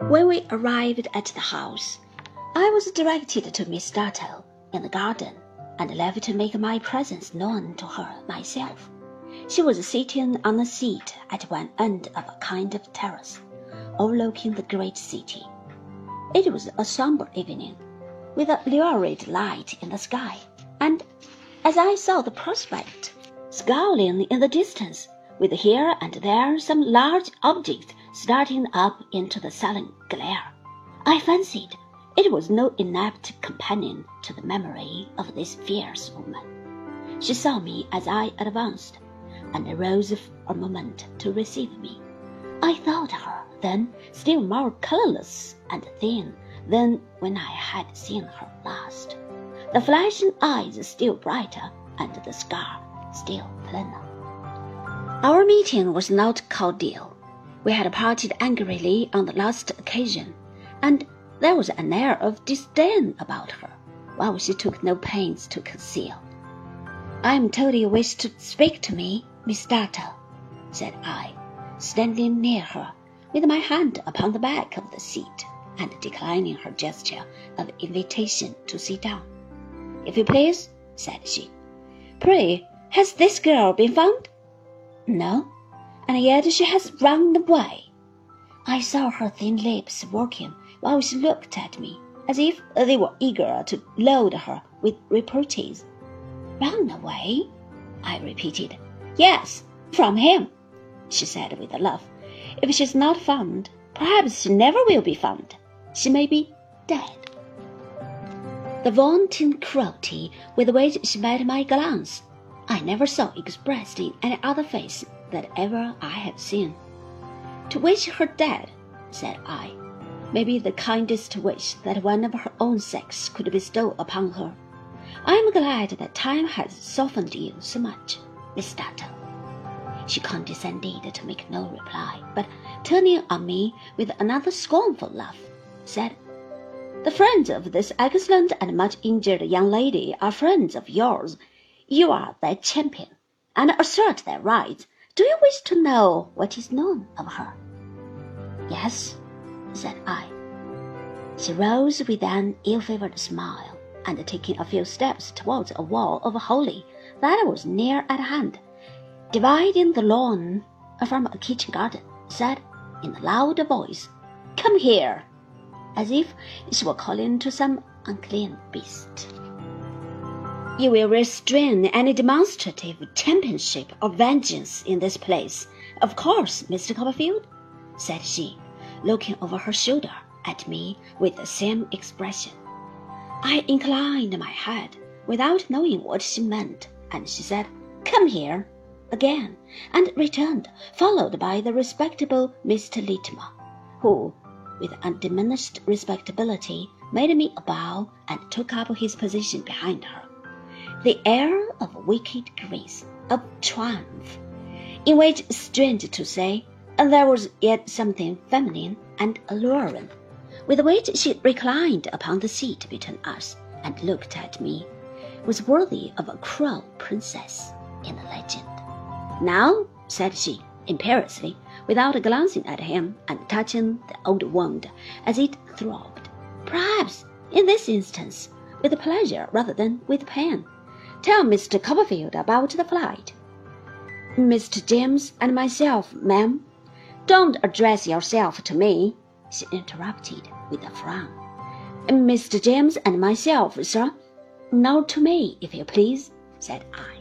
When we arrived at the house, I was directed to Miss Dartle in the garden and left to make my presence known to her myself. She was sitting on a seat at one end of a kind of terrace, overlooking the great city. It was a somber evening, with a lurid light in the sky, and as I saw the prospect, scowling in the distance, with here and there some large object starting up into the sullen glare, I fancied it was no inept companion to the memory of this fierce woman. She saw me as I advanced, and rose for a moment to receive me. I thought her then still more colourless and thin than when I had seen her last, the flashing eyes still brighter and the scar still plainer. Our meeting was not cordial. We had parted angrily on the last occasion, and there was an air of disdain about her, while she took no pains to conceal. "I am told you wish to speak to me, Miss Dartle," said I, standing near her, with my hand upon the back of the seat, and declining her gesture of invitation to sit down. "If you please," said she. "Pray, has this girl been found?" "No, and yet she has run away." I saw her thin lips working while she looked at me, as if they were eager to load her with reproaches. "Run away?" I repeated. "Yes, from him," she said with a laugh. "If she's not found, perhaps she never will be found. She may be dead." The wanton cruelty with which she met my glance, I never saw expressed in any other face that ever I have seen. "To wish her dead," said I, "may be the kindest wish that one of her own sex could bestow upon her. I am glad that time has softened you so much, Miss Dartle." She condescended to make no reply, but turning on me with another scornful laugh, said, "The friends of this excellent and much injured young lady are friends of yours. You are their champion, and assert their rights. Do you wish to know what is known of her?" "Yes," said I. She rose with an ill-favoured smile, and taking a few steps towards a wall of holly that was near at hand, dividing the lawn from a kitchen garden, said in a loud voice, "Come here," as if she were calling to some unclean beast. "You will restrain any demonstrative championship or vengeance in this place, of course, Mr. Copperfield?" said she, looking over her shoulder at me with the same expression. I inclined my head without knowing what she meant, and she said, "Come here," again, and returned, followed by the respectable Mr. Littimer, who, with undiminished respectability, made me a bow and took up his position behind her. The air of wicked grace, of triumph, in which, strange to say, there was yet something feminine and alluring, with which she reclined upon the seat between us and looked at me, was worthy of a cruel princess in a legend. "Now," said she, imperiously, without glancing at him and touching the old wound as it throbbed, "perhaps, in this instance, with pleasure rather than with pain, tell Mr. Copperfield about the flight." "Mr. James and myself, ma'am." "Don't address yourself to me," she interrupted with a frown. "Mr. James and myself, sir." "Not to me, if you please," said I.